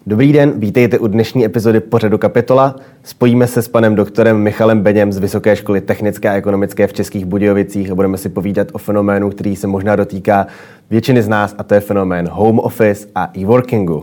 Dobrý den, vítejte u dnešní epizody pořadu Kapitola. Spojíme se s panem doktorem Michalem Beněm z Vysoké školy technické a ekonomické v Českých Budějovicích a budeme si povídat o fenoménu, který se možná dotýká většiny z nás, a to je fenomén home office a e-workingu.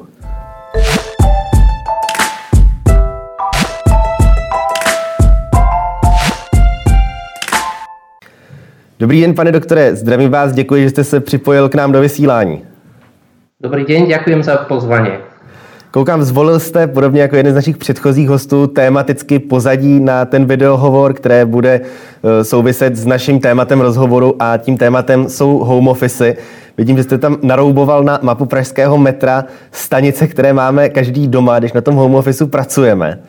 Dobrý den, pane doktore, zdravím vás, děkuji, že jste se připojil k nám do vysílání. Dobrý den, děkuji za pozvání. Koukám, zvolil jste, podobně jako jeden z našich předchozích hostů, tematicky pozadí na ten videohovor, které bude souviset s naším tématem rozhovoru, a tím tématem jsou home office. Vidím, že jste tam narouboval na mapu pražského metra stanice, které máme každý doma, když na tom home officeu pracujeme.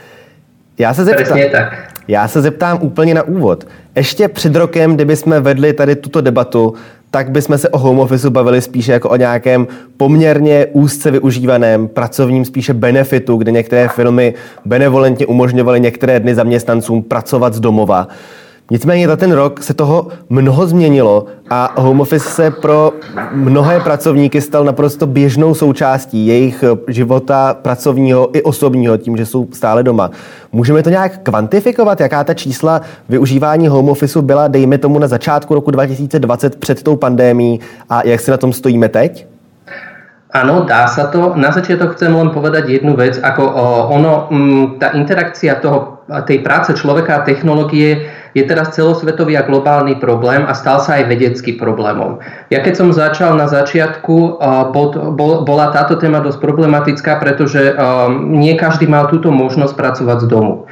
Já se zeptám úplně na úvod. Ještě před rokem, kdyby jsme vedli tady tuto debatu, tak bychom se o home officeu bavili spíše jako o nějakém poměrně úzce využívaném pracovním spíše benefitu, kde některé firmy benevolentně umožňovaly některé dny zaměstnancům pracovat z domova. Nicméně za ten rok se toho mnoho změnilo a home office se pro mnohé pracovníky stal naprosto běžnou součástí jejich života pracovního i osobního, tím, že jsou stále doma. Můžeme to nějak kvantifikovat, jaká ta čísla využívání home officeu byla, dejme tomu, na začátku roku 2020 před tou pandémií, a jak si na tom stojíme teď? Áno, dá sa to. Na začiatok chcem len povedať jednu vec, ako tá interakcia tej práce človeka a technológie je teraz celosvetový a globálny problém a stal sa aj vedecký problémom. Ja keď som začal na začiatku, bola táto téma dosť problematická, pretože nie každý mal túto možnosť pracovať z domu.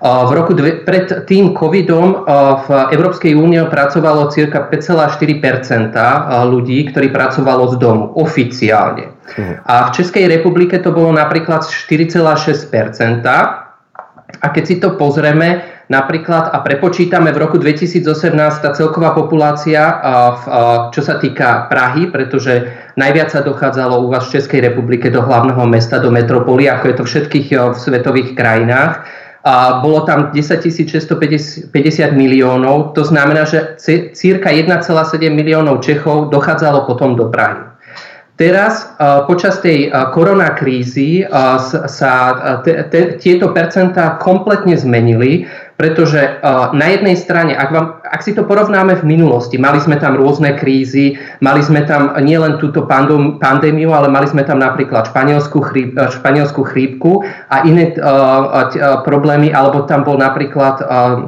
Pred tým covidom v Európskej únii pracovalo cirka 5,4% ľudí, ktorí pracovalo z domu oficiálne. A v Českej republike to bolo napríklad 4,6%. A keď si to pozrieme napríklad a prepočítame v roku 2018 tá celková populácia, čo sa týka Prahy, pretože najviac sa dochádzalo u vás v Českej republike do hlavného mesta, do metropoly, ako je to v všetkých svetových krajinách. A bolo tam 10 650 miliónov, to znamená, že cirka 1,7 miliónov Čechov dochádzalo potom do Prahy. Teraz počas tej koronakrízy sa tieto percentá kompletne zmenili, pretože na jednej strane, ak si to porovnáme v minulosti, mali sme tam rôzne krízy, mali sme tam nielen túto pandémiu, ale mali sme tam napríklad španielskú chrípku a iné problémy, alebo tam bol napríklad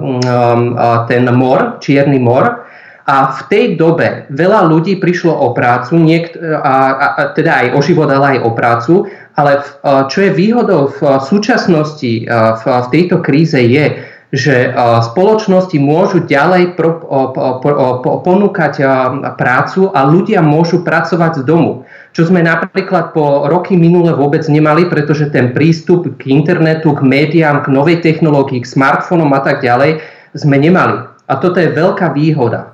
ten čierny mor. A v tej dobe veľa ľudí prišlo o prácu, teda aj o život, ale aj o prácu, ale čo je výhodou v súčasnosti v tejto kríze je, že spoločnosti môžu ďalej ponúkať prácu a ľudia môžu pracovať z domu. Čo sme napríklad po roky minule vôbec nemali, pretože ten prístup k internetu, k médiám, k novej technológii, k smartfónom a tak ďalej sme nemali. A toto je veľká výhoda.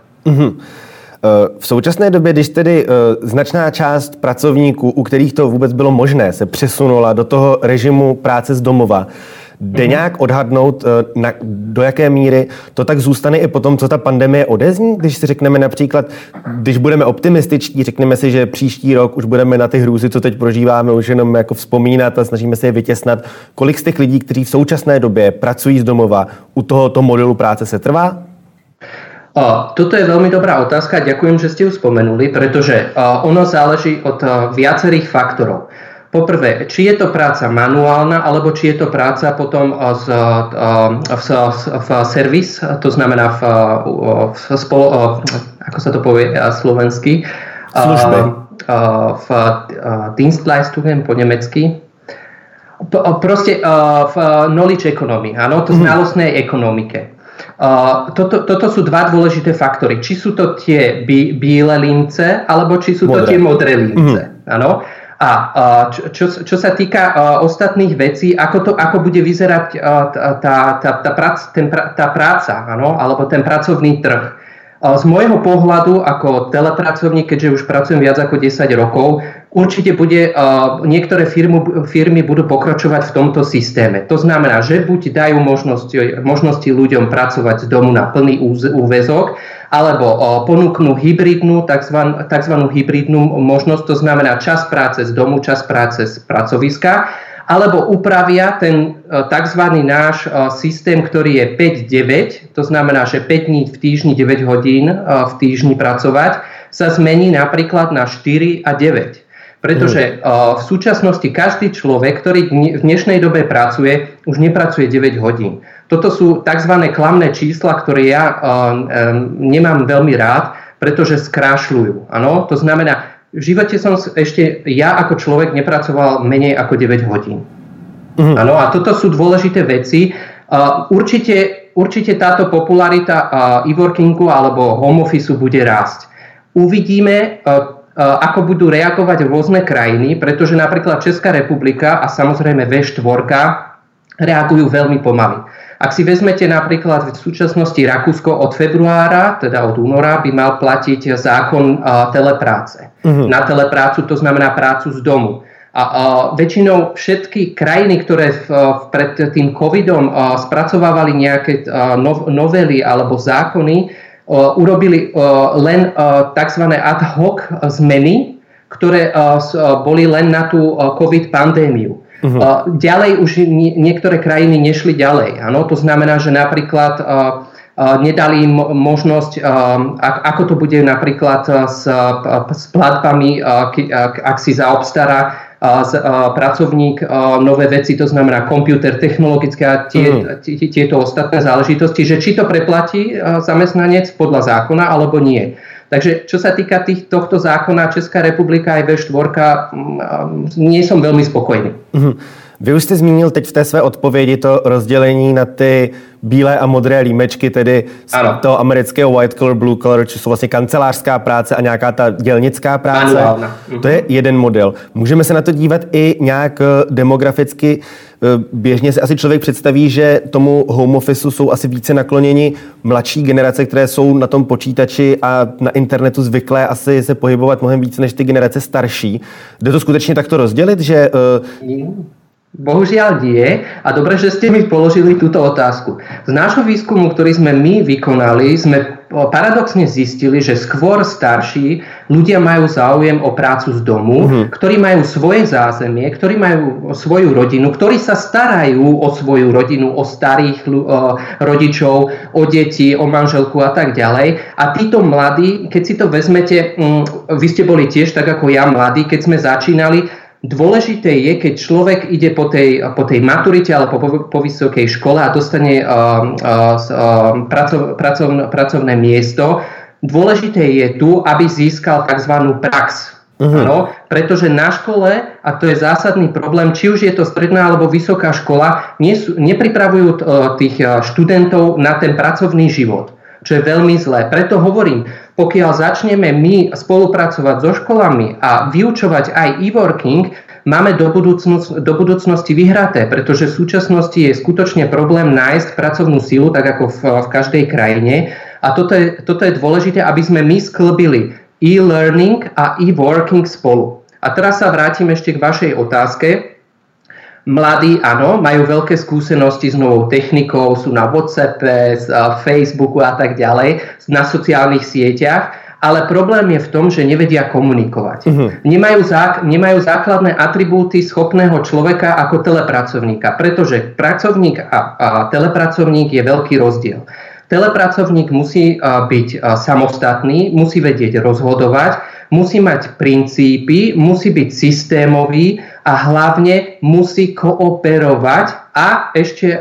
V současné době, když tedy značná část pracovníků, u kterých to vůbec bylo možné, se přesunula do toho režimu práce z domova, jde nějak odhadnout, do jaké míry to tak zůstane i potom, co ta pandemie odezní? Když si řekneme například, když budeme optimističtí, řekneme si, že příští rok už budeme na ty hrůzy, co teď prožíváme, už jenom jako vzpomínat a snažíme se je vytěsnat. Kolik z těch lidí, kteří v současné době pracují z domova, u tohoto modelu práce se trvá? Toto je veľmi dobrá otázka, ďakujem, že ste ju spomenuli, pretože ono záleží od viacerých faktorov. Poprvé, či je to práca manuálna, alebo či je to práca potom v servis, to znamená ako sa to povie slovensky? Služby. V Dienstleistungen po nemecky. Proste v knowledge economy, áno, to znalostnej ekonomike. Toto sú dva dôležité faktory. Či sú to tie biele lince, alebo či sú to tie modré lince. Áno. A čo sa týka ostatných vecí, ako bude vyzerať tá práca, áno, alebo ten pracovný trh. Z môjho pohľadu ako telepracovník, keďže už pracujem viac ako 10 rokov, určite niektoré firmy budú pokračovať v tomto systéme. To znamená, že buď dajú možnosti ľuďom pracovať z domu na plný úväzok, alebo ponúknú tzv. Hybridnú možnosť, to znamená čas práce z domu, čas práce z pracoviska, alebo upravia ten tzv. Náš systém, ktorý je 5-9, to znamená, že 5 dní v týždni, 9 hodín v týždni pracovať, sa zmení napríklad na 4 a 9. Pretože v súčasnosti každý človek, ktorý v dnešnej dobe pracuje, už nepracuje 9 hodín. Toto sú tzv. Klamné čísla, ktoré ja nemám veľmi rád, pretože skrášľujú. Ano? To znamená, v živote som ešte ja ako človek nepracoval menej ako 9 hodín. Ano, a toto sú dôležité veci. Určite táto popularita e-workingu alebo home office bude rásť. Uvidíme, ako budú reagovať rôzne krajiny, pretože napríklad Česká republika a samozrejme V4 reagujú veľmi pomaly. Ak si vezmete napríklad v súčasnosti Rakúsko od februára, teda od února, by mal platiť zákon telepráce. Na teleprácu to znamená prácu z domu. A väčšinou všetky krajiny, ktoré pred tým covidom spracovávali nejaké novely alebo zákony, urobili len tzv. Ad hoc zmeny, ktoré boli len na tú covid pandémiu. Ďalej už niektoré krajiny nešli ďalej. Ano? To znamená, že napríklad nedali im možnosť, ako to bude napríklad s platbami, ak si zaobstará pracovník nové veci, to znamená počítač, technologické a tieto ostatné záležitosti, že či to preplatí zamestnanec podľa zákona alebo nie. Takže čo sa týka tohto zákona, Česká republika aj V4, nie som veľmi spokojný. Vy už jste zmínil teď v té své odpovědi to rozdělení na ty bílé a modré límečky, tedy z toho amerického white collar, blue collar, což jsou vlastně kancelářská práce a nějaká ta dělnická práce. To je jeden model. Můžeme se na to dívat i nějak demograficky. Běžně si asi člověk představí, že tomu home officeu jsou asi více nakloněni mladší generace, které jsou na tom počítači a na internetu zvyklé asi se pohybovat mnohem více než ty generace starší. Jde to skutečně takto rozdělit, že... Bohužiaľ nie. A dobre, že ste mi položili túto otázku. Z nášho výskumu, ktorý sme my vykonali, sme paradoxne zistili, že skôr starší ľudia majú záujem o prácu z domu, ktorí majú svoje zázemie, ktorí majú svoju rodinu, ktorí sa starajú o svoju rodinu, o starých rodičov, o deti, o manželku a tak ďalej. A títo mladí, keď si to vezmete, vy ste boli tiež tak ako ja mladí, keď sme začínali. Dôležité je, keď človek ide po tej maturite alebo po vysokej škole a dostane pracovné miesto. Dôležité je tu, aby získal tzv. Prax. No, pretože na škole, a to je zásadný problém, či už je to stredná alebo vysoká škola, nepripravujú tých študentov na ten pracovný život, čo je veľmi zlé. Preto hovorím, pokiaľ začneme my spolupracovať so školami a vyučovať aj e-working, máme do budúcnosti vyhraté, pretože v súčasnosti je skutočne problém nájsť pracovnú silu, tak ako v každej krajine. A toto je dôležité, aby sme my sklbili e-learning a e-working spolu. A teraz sa vrátim ešte k vašej otázke. Mladí, áno, majú veľké skúsenosti s novou technikou, sú na WhatsAppe, Facebooku a tak ďalej, na sociálnych sieťach, ale problém je v tom, že nevedia komunikovať. Nemajú základné atribúty schopného človeka ako telepracovníka, pretože pracovník a telepracovník je veľký rozdiel. Telepracovník musí byť samostatný, musí vedieť rozhodovať, musí mať princípy, musí byť systémový a hlavne musí kooperovať a ešte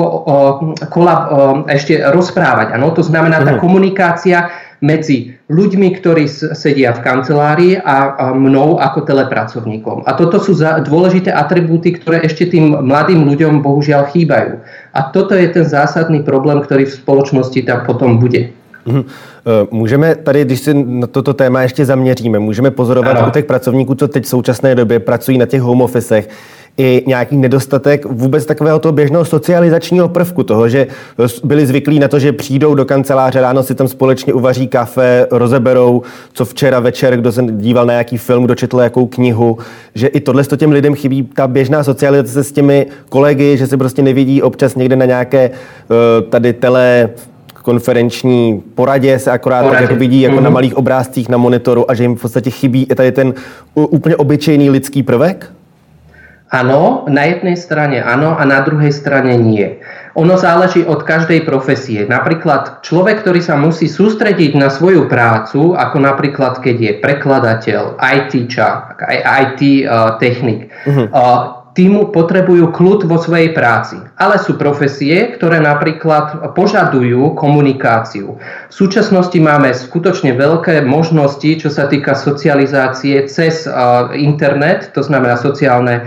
rozprávať. Ano? To znamená tá komunikácia medzi ľuďmi, ktorí sedia v kancelárii a mnou ako telepracovníkom. A toto sú dôležité atribúty, ktoré ešte tým mladým ľuďom bohužiaľ chýbajú. A toto je ten zásadný problém, ktorý v spoločnosti tam potom bude. Můžeme tady, když si na toto téma ještě zaměříme, můžeme pozorovat u těch pracovníků, co teď v současné době pracují na těch home officech, i nějaký nedostatek vůbec takového toho běžného socializačního prvku toho, že byli zvyklí na to, že přijdou do kanceláře, ráno si tam společně uvaří kafe, rozeberou, co včera večer, kdo se díval na nějaký film, kdo četl jakou knihu, že i tohle těm lidem chybí, ta běžná socializace s těmi kolegy, že se prostě nevidí občas někde na nějaké tady konferenční poradě se akorát tak jako vidí jako na malých obrázcích na monitoru a že jim v podstatě chybí i tady ten úplně obyčejný lidský prvek? Áno, na jednej strane áno a na druhej strane nie. Ono záleží od každej profesie. Napríklad človek, ktorý sa musí sústrediť na svoju prácu, ako napríklad keď je prekladateľ, IT technik, týmu potrebujú kľud vo svojej práci. Ale sú profesie, ktoré napríklad požadujú komunikáciu. V súčasnosti máme skutočne veľké možnosti, čo sa týka socializácie cez internet, to znamená sociálne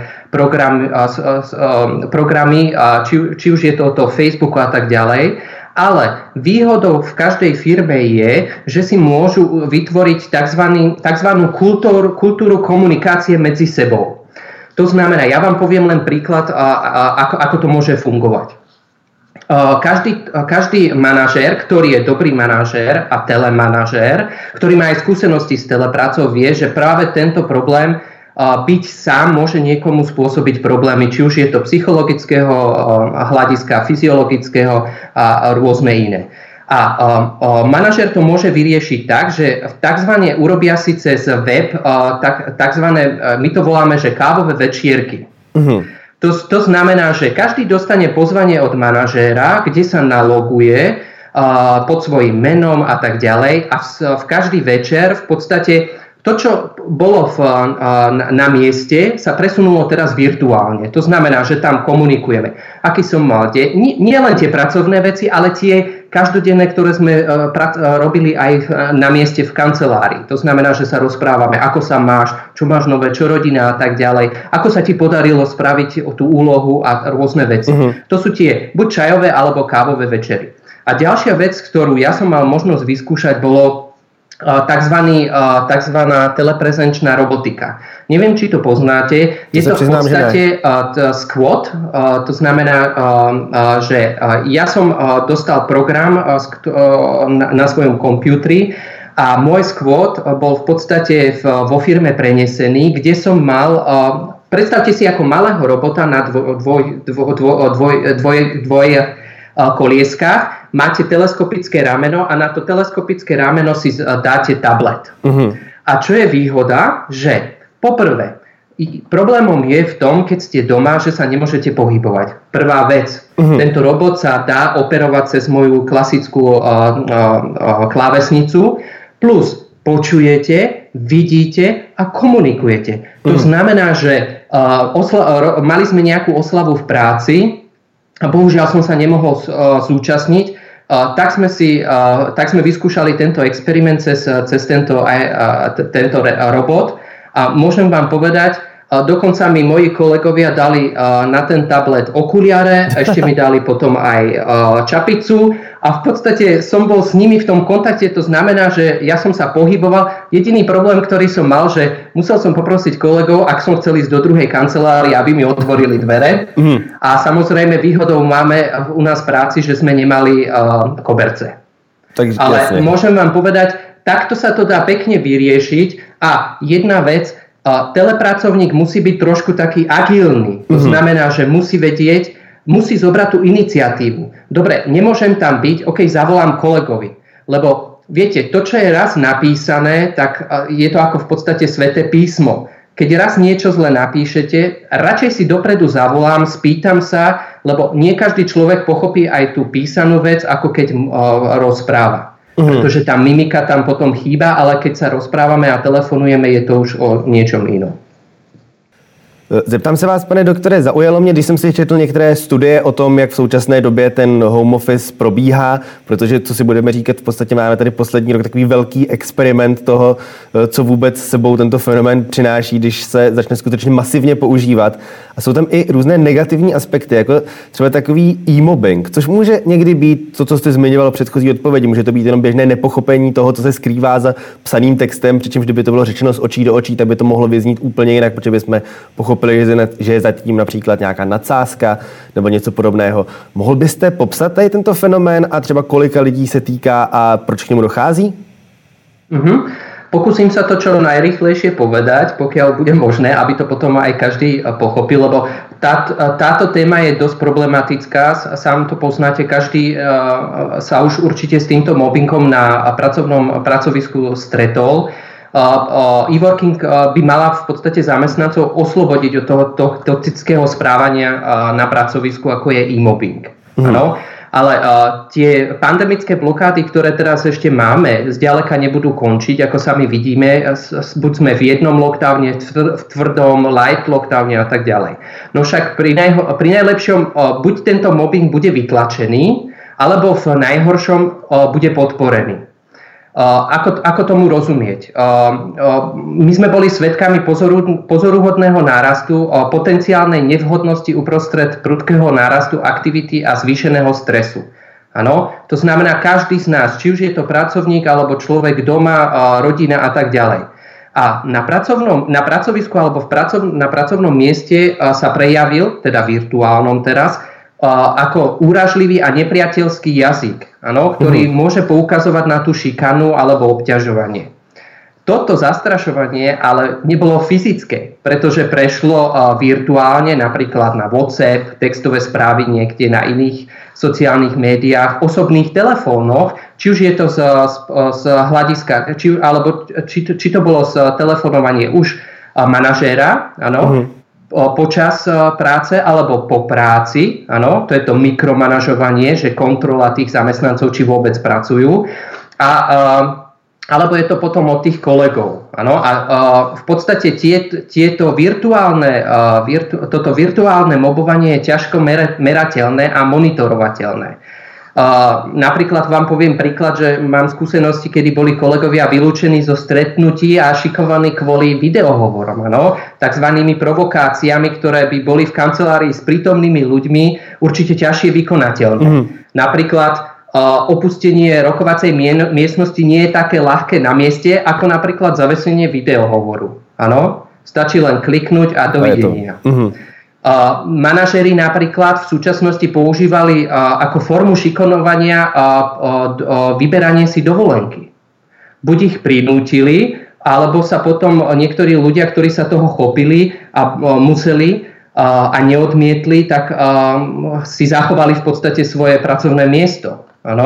programy či už je to Facebooku a tak ďalej. Ale výhodou v každej firme je, že si môžu vytvoriť tzv. kultúru komunikácie medzi sebou. To znamená, ja vám poviem len príklad, ako to môže fungovať. Každý manažér, ktorý je dobrý manažér a telemanažér, ktorý má aj skúsenosti s teleprácou, vie, že práve tento problém byť sám môže niekomu spôsobiť problémy, či už je to psychologického hľadiska, fyziologického a rôzne iné. A manažér to môže vyriešiť tak, že takzvané urobia si cez web takzvané, my to voláme, že kávové večierky. To znamená, že každý dostane pozvanie od manažéra, kde sa naloguje pod svojím menom a tak ďalej a v každý večer v podstate to, čo bolo na mieste, sa presunulo teraz virtuálne. To znamená, že tam komunikujeme. Aký som mal nie len tie pracovné veci, ale tie každodenné, ktoré sme robili aj na mieste v kancelárii. To znamená, že sa rozprávame, ako sa máš, čo máš nové, čo rodina a tak ďalej. Ako sa ti podarilo spraviť tú úlohu a rôzne veci. To sú tie buď čajové alebo kávové večery. A ďalšia vec, ktorú ja som mal možnosť vyskúšať, bolo takzvaná teleprezenčná robotika. Neviem, či to poznáte. Je to v podstate squat. To znamená, že ja som dostal program na svojom počítači a môj squat bol v podstate vo firme prenesený, kde som mal, predstavte si ako malého robota na dvoj kolieskách, máte teleskopické rameno a na to teleskopické rameno si dáte tablet. A čo je výhoda, že poprvé, problémom je v tom, keď ste doma, že sa nemôžete pohybovať. Prvá vec, tento robot sa dá operovať cez moju klasickú klávesnicu, plus počujete, vidíte a komunikujete. To znamená, že mali sme nejakú oslavu v práci, a bohužiaľ som sa nemohol zúčastniť, tak sme vyskúšali tento experiment cez tento robot a môžem vám povedať, dokonca mi moji kolegovia dali na ten tablet okuliare, ešte mi dali potom aj čapicu a v podstate som bol s nimi v tom kontakte, to znamená, že ja som sa pohyboval. Jediný problém, ktorý som mal, že musel som poprosiť kolegov, ak som chcel ísť do druhej kancelárie, aby mi otvorili dvere. A samozrejme výhodou máme u nás v práci, že sme nemali koberce. Ale môžem vám povedať, takto sa to dá pekne vyriešiť a jedna vec, telepracovník musí byť trošku taký agilný. To znamená, že musí vedieť, musí zobrať tú iniciatívu. Dobre, nemôžem tam byť, zavolám kolegovi. Lebo viete, to, čo je raz napísané, tak je to ako v podstate sväté písmo. Keď raz niečo zle napíšete, radšej si dopredu zavolám, spýtam sa, lebo nie každý človek pochopí aj tú písanú vec, ako keď rozpráva. Pretože tá mimika tam potom chýba, ale keď sa rozprávame a telefonujeme, je to už o niečom inom. Zeptám se vás, pane doktore, zaujalo mě, když jsem si četl některé studie o tom, jak v současné době ten home office probíhá, protože, co si budeme říkat, v podstatě máme tady poslední rok takový velký experiment toho, co vůbec sebou tento fenomén přináší, když se začne skutečně masivně používat. A jsou tam i různé negativní aspekty, jako třeba takový e-mobbing, což může někdy být to, co jste zmiňoval v předchozí odpovědi. Může to být jenom běžné nepochopení toho, co se skrývá za psaným textem, přičemž kdyby to bylo řečeno z očí do očí, tak by to mohlo vyznít úplně jinak, protože bychom pochopili pochopili, že je zatím například nějaká nadsázka nebo něco podobného. Mohl byste popsat tady tento fenomén a třeba kolika lidí se týká a proč k němu dochází? Pokúsim sa to čo najrýchlejšie povedať, pokiaľ bude možné, aby to potom aj každý pochopil, lebo táto téma je dosť problematická, sám to poznáte, každý sa už určite s týmto mobbingom na pracovnom pracovisku stretol. E-working by mala v podstate zamestnancov oslobodiť od toho toxického správania na pracovisku, ako je e-mobbing. Áno. Ale tie pandemické blokády, ktoré teraz ešte máme, zďaleka nebudú končiť, ako sami vidíme, buď sme v jednom lockdowne, v tvrdom light lockdowne a tak ďalej. No však pri najlepšom buď tento mobbing bude vytlačený, alebo v najhoršom bude podporený. Ako tomu rozumieť? My sme boli svedkami pozoruhodného nárastu potenciálnej nevhodnosti uprostred prudkého nárastu aktivity a zvýšeného stresu. Áno? To znamená, každý z nás, či už je to pracovník alebo človek doma, rodina a tak ďalej. A na pracovisku alebo na pracovnom mieste sa prejavil, teda virtuálnom teraz, ako úražlivý a nepriateľský jazyk, ktorý môže poukazovať na tú šikanu alebo obťažovanie. Toto zastrašovanie ale nebolo fyzické, pretože prešlo virtuálne, napríklad na WhatsApp, textové správy niekde na iných sociálnych médiách, osobných telefónoch, či už je to z hľadiska, či to bolo z telefonovanie už manažéra, počas práce alebo po práci, áno, to je to mikromanažovanie, že kontrola tých zamestnancov, či vôbec pracujú, alebo je to potom od tých kolegov, áno, a v podstate toto virtuálne mobovanie je ťažko merateľné a monitorovateľné. Napríklad vám poviem príklad, že mám skúsenosti, kedy boli kolegovia vylúčení zo stretnutí a šikovaní kvôli videohovorom, takzvanými provokáciami, ktoré by boli v kancelárii s prítomnými ľuďmi určite ťažšie vykonateľné. Napríklad opustenie rokovacej miestnosti nie je také ľahké na mieste, ako napríklad zavesenie videohovoru. Stačí len kliknúť a dovidenia. Manažéri napríklad v súčasnosti používali ako formu šikanovania vyberanie si dovolenky. Buď ich prinútili, alebo sa potom niektorí ľudia, ktorí sa toho chopili a museli a neodmietli, tak si zachovali v podstate svoje pracovné miesto.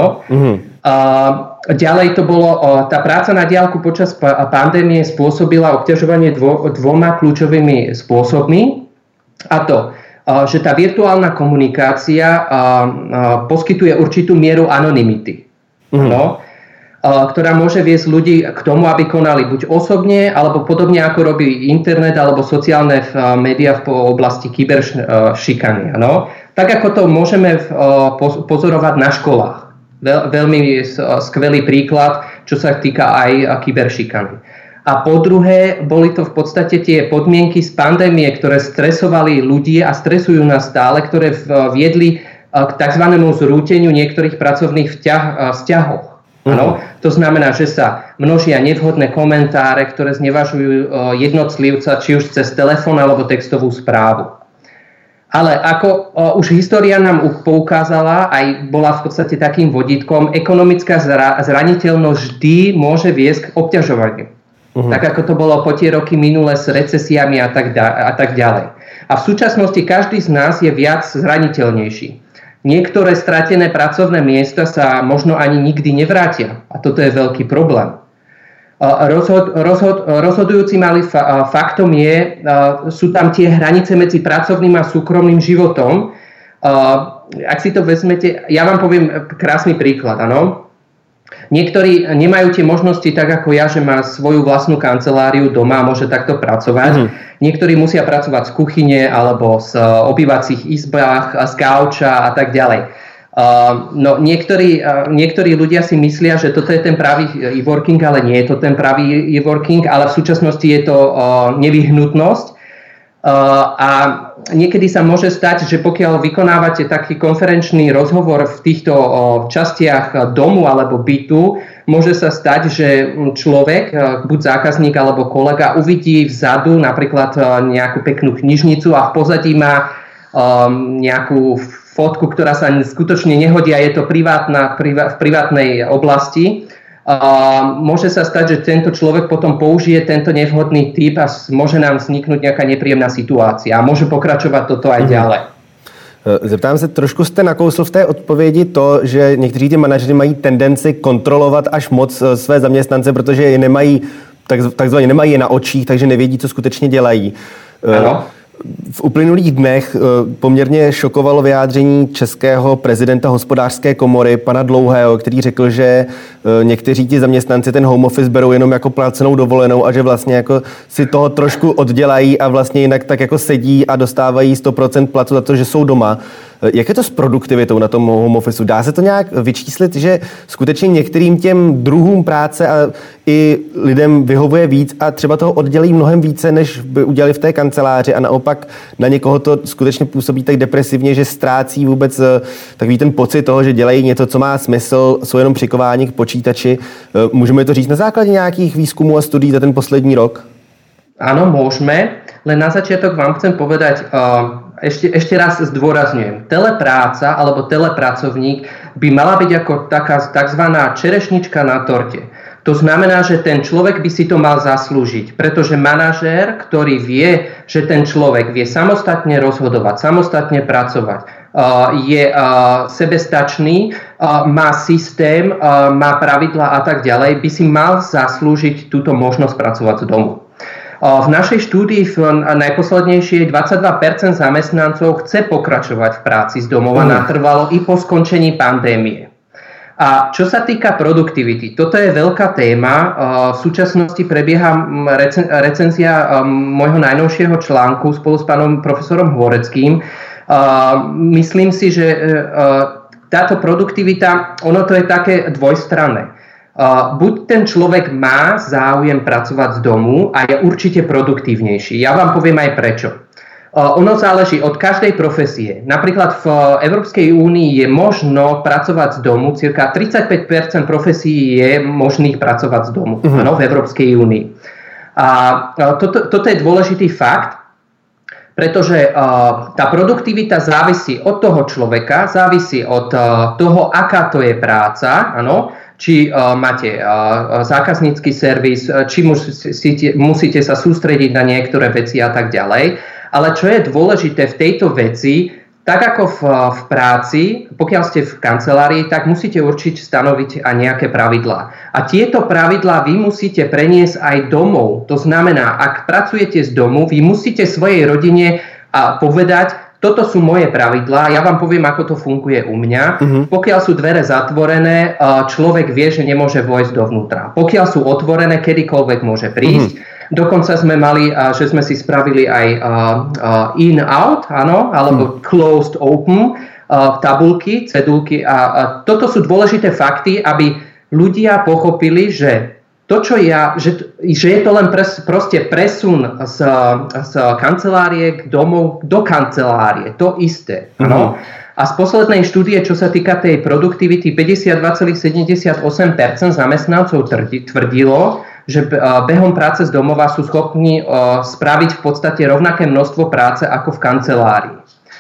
Ďalej to bolo, tá práca na diaľku počas pandémie spôsobila obťažovanie dvoma kľúčovými spôsobmi. A to, že tá virtuálna komunikácia poskytuje určitú mieru anonymity, ktorá môže viesť ľudí k tomu, aby konali buď osobne, alebo podobne ako robí internet alebo sociálne médiá v oblasti kyberšikany. Tak ako to môžeme pozorovať na školách. Veľmi skvelý príklad, čo sa týka aj kyberšikany. A po druhé, boli to v podstate tie podmienky z pandémie, ktoré stresovali ľudí a stresujú nás stále, ktoré viedli k tzv. Zrúteniu niektorých pracovných vzťahov. To znamená, že sa množia nevhodné komentáre, ktoré znevažujú jednotlivca, či už cez telefón alebo textovú správu. Ale ako už história nám poukázala, aj bola v podstate takým vodítkom, ekonomická zraniteľnosť vždy môže viesť k obťažovaniu. Tak ako to bolo po tie roky minulé s recesiami a tak ďalej. A v súčasnosti každý z nás je viac zraniteľnejší. Niektoré stratené pracovné miesta sa možno ani nikdy nevrátia. A toto je veľký problém. Rozhodujúcim ale faktom sú tam tie hranice medzi pracovným a súkromným životom. Ak si to vezmete, ja vám poviem krásny príklad, Niektorí nemajú tie možnosti tak ako ja, že má svoju vlastnú kanceláriu doma a môže takto pracovať. Niektorí musia pracovať z kuchyne alebo z obývacích izbách, z gauča a tak ďalej. Niektorí ľudia si myslia, že toto je ten pravý e-working, ale nie je to ten pravý e-working, ale v súčasnosti je to nevyhnutnosť. A niekedy sa môže stať, že pokiaľ vykonávate taký konferenčný rozhovor v týchto častiach domu alebo bytu, Môže sa stať, že človek, buď zákazník alebo kolega, uvidí vzadu napríklad nejakú peknú knižnicu a v pozadí má nejakú fotku, ktorá sa skutočne nehodí a je to v privátnej oblasti. Môže sa stať, že tento človek potom použije tento nevhodný typ a môže nám vzniknúť nejaká nepríjemná situácia a môže pokračovať toto aj ďalej. Zeptám se, trošku jste nakousl v té odpovědi to, že někteří ti manažeři mají tendenci kontrolovat až moc své zaměstnance, protože je nemají, takzvaně nemají je na očích, takže nevědí, co skutečně dělají. Ano. V uplynulých dnech poměrně šokovalo vyjádření českého prezidenta hospodářské komory, pana Dlouhého, který řekl, že někteří ti zaměstnanci ten home office berou jenom jako placenou dovolenou a že vlastně jako si toho trošku oddělají a vlastně jinak tak jako sedí a dostávají 100% platu za to, že jsou doma. Jak je to s produktivitou na tom home officeu? Dá se to nějak vyčíslit, že skutečně některým těm druhům práce a i lidem vyhovuje víc a třeba toho oddělí mnohem více, než by udělali v té kanceláři a naopak na někoho to skutečně působí tak depresivně, že ztrácí vůbec takový ten pocit toho, že dělají něco, co má smysl, jsou jenom přikováni k počítači. Můžeme to říct na základě nějakých výzkumů a studií za ten poslední rok? Áno, môžeme, len na začiatok vám chcem povedať, ešte raz zdôrazňujem, telepráca alebo telepracovník by mala byť ako taká takzvaná čerešnička na torte. To znamená, že ten človek by si to mal zaslúžiť, pretože manažér, ktorý vie, že ten človek vie samostatne rozhodovať, samostatne pracovať, je sebestačný, má systém, má pravidlá a tak ďalej, by si mal zaslúžiť túto možnosť pracovať z domu. V našej štúdii najposlednejšie 22% zamestnancov chce pokračovať v práci z domova natrvalo i po skončení pandémie. A čo sa týka produktivity, toto je veľká téma. V súčasnosti prebieha recenzia môjho najnovšieho článku spolu s pánom profesorom Hvoreckým. Myslím si, že táto produktivita, ono to je také dvojstranné. Buď ten človek má záujem pracovať z domu a je určite produktívnejší. Ja vám poviem aj prečo. Ono záleží od každej profesie. Napríklad v Európskej únii je možno pracovať z domu, cirka 35% profesí je možných pracovať z domu, áno, v Európskej únii. A toto je dôležitý fakt, pretože tá produktivita závisí od toho človeka, závisí od toho, aká to je práca, áno, či máte zákaznícky servis, či musíte sa sústrediť na niektoré veci a tak ďalej. Ale čo je dôležité v tejto veci, tak ako v práci, pokiaľ ste v kancelárii, tak musíte určiť stanoviť aj nejaké pravidlá. A tieto pravidlá vy musíte preniesť aj domov. To znamená, ak pracujete z domu, vy musíte svojej rodine povedať, toto sú moje pravidlá, ja vám poviem, ako to funguje u mňa. Pokiaľ sú dvere zatvorené, človek vie, že nemôže vojsť dovnútra. Pokiaľ sú otvorené, kedykoľvek môže prísť. Dokonca sme mali, že sme si spravili aj in-out, áno, alebo closed-open tabulky, cedulky. A toto sú dôležité fakty, aby ľudia pochopili, že to, čo že je to len proste presun z kancelárie k domov do kancelárie. To isté. No? A z poslednej štúdie, čo sa týka tej produktivity, 52,78% zamestnancov tvrdilo, že behom práce z domova sú schopní spraviť v podstate rovnaké množstvo práce ako v kancelárii.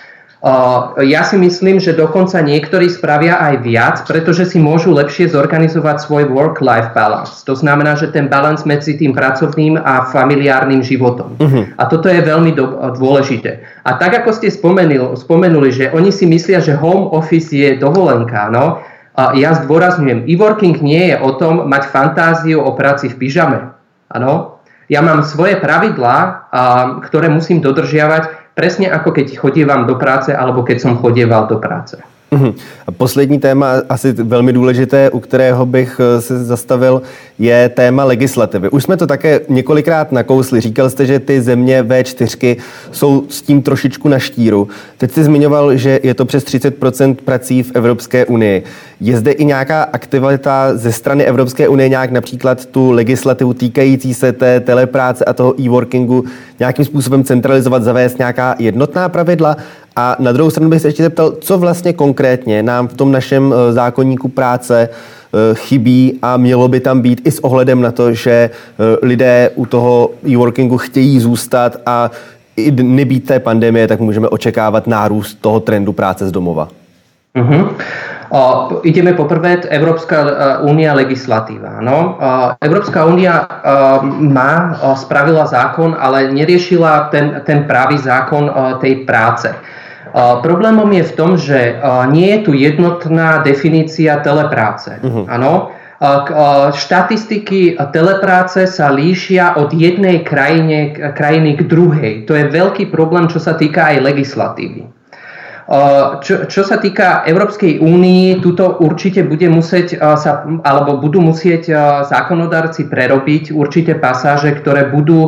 Ja si myslím, že dokonca niektorí spravia aj viac, pretože si môžu lepšie zorganizovať svoj work-life balance. To znamená, že ten balans medzi tým pracovným a familiárnym životom. A toto je veľmi dôležité. A tak, ako ste spomenuli, že oni si myslia, že home office je dovolenka, no? Ja zdôrazňujem, e-working nie je o tom mať fantáziu o práci v pyžame. Áno? Ja mám svoje pravidlá, ktoré musím dodržiavať, presne ako keď chodievam do práce, alebo keď som chodieval do práce. A poslední téma, asi velmi důležité, u kterého bych se zastavil, je téma legislativy. Už jsme to také několikrát nakousli. Říkal jste, že ty země V4 jsou s tím trošičku na štíru. Teď jste zmiňoval, že je to přes 30% prací v Evropské unii. Je zde i nějaká aktivita ze strany Evropské unie, nějak například tu legislativu týkající se té telepráce a toho e-workingu nějakým způsobem centralizovat, zavést nějaká jednotná pravidla? A na druhou stranu bych se ještě zeptal, co vlastně konkrétně nám v tom našem zákoníku práce chybí a mělo by tam být i s ohledem na to, že lidé u toho e-workingu chtějí zůstat a i nebýt té pandemie, tak můžeme očekávat nárůst toho trendu práce z domova. Ideme poprvé, Európska únia legislatíva. No? Európska únia spravila zákon, ale neriešila ten právý zákon tej práce. Problémom je v tom, že nie je tu jednotná definícia telepráce. Áno? Štatistiky telepráce sa líšia od jednej krajiny k druhej. To je veľký problém, čo sa týka aj legislatívy. Čo sa týka Európskej únii, tuto určite budú musieť zákonodárci prerobiť určité pasáže, ktoré budú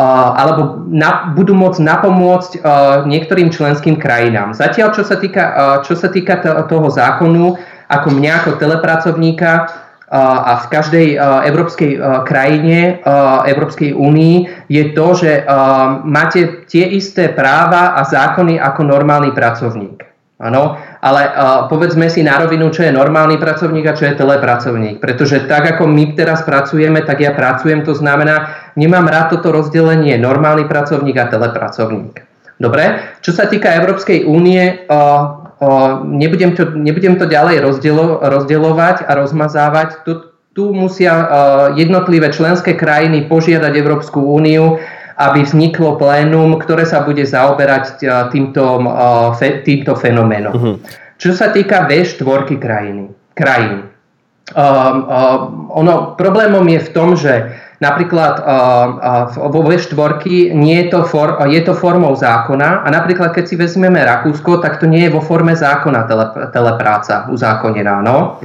môcť napomôcť niektorým členským krajinám. Zatiaľ, čo sa týka toho zákonu, ako mňa ako telepracovníka a v každej európskej krajine, Európskej únii, je to, že máte tie isté práva a zákony ako normálny pracovník. Áno, ale povedzme si na rovinu, čo je normálny pracovník a čo je telepracovník. Pretože tak, ako my teraz pracujeme, tak ja pracujem, to znamená, nemám rád toto rozdelenie normálny pracovník a telepracovník. Dobre? Čo sa týka Európskej únie, nebudem to ďalej rozdeľovať a rozmazávať. Tu musia jednotlivé členské krajiny požiadať Európsku úniu, aby vzniklo plénum, ktoré sa bude zaoberať týmto fenoménom. Čo sa týka V4 krajín. Problémom je v tom, že napríklad vo V4 je to formou zákona a napríklad keď si vezmeme Rakúsko, tak to nie je vo forme zákona telepráca uzákonená. No?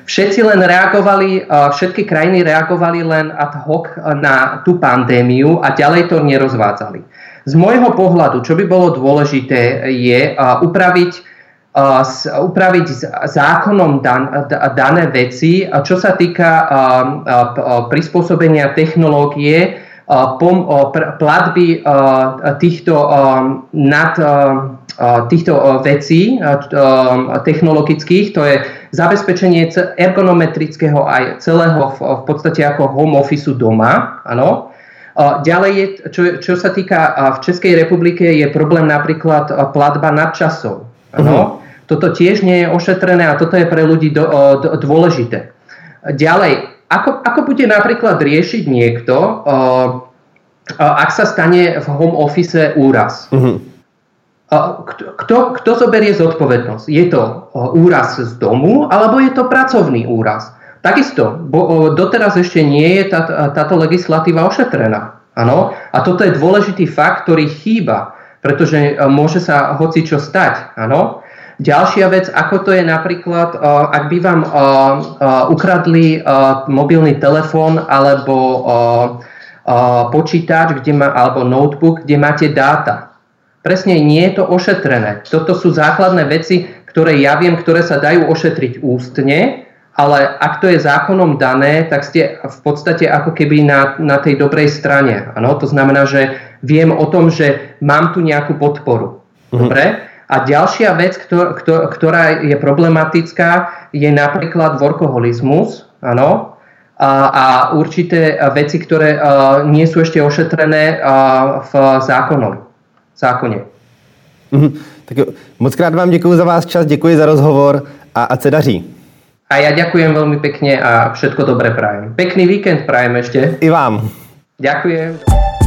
Všetky krajiny reagovali len ad hoc na tú pandémiu a ďalej to nerozvádzali. Z môjho pohľadu, čo by bolo dôležité, je upraviť zákonom dané veci, čo sa týka prispôsobenia technológie, platby týchto vecí technologických, to je zabezpečenie ergonometrického aj celého v podstate ako home office doma, áno. Ďalej, čo sa týka v Českej republike, je problém napríklad platba nadčasov, áno. Toto tiež nie je ošetrené a toto je pre ľudí dôležité. Ďalej, ako bude napríklad riešiť niekto, ak sa stane v home office úraz? Kto zoberie zodpovednosť? Je to úraz z domu, alebo je to pracovný úraz? Takisto, doteraz ešte nie je táto legislatíva ošetrená. Ano? A toto je dôležitý fakt, ktorý chýba, pretože môže sa hocičo stať. Ano? Ďalšia vec, ako to je napríklad, ak by vám ukradli mobilný telefón alebo počítač, alebo notebook, kde máte dáta. Presne nie je to ošetrené. Toto sú základné veci, ktoré ja viem, ktoré sa dajú ošetriť ústne, ale ak to je zákonom dané, tak ste v podstate ako keby na tej dobrej strane. Ano? To znamená, že viem o tom, že mám tu nejakú podporu. Dobre? A ďalšia vec, ktorá je problematická, je napríklad workoholizmus, áno, a určité veci, ktoré nie sú ešte ošetrené v zákone. Tak jo, moc krát vám děkuji za váš čas, děkuji za rozhovor a ať se daří. A ja ďakujem veľmi pekne a všetko dobré prajem. Pekný víkend prajem ešte. I vám. Ďakujem.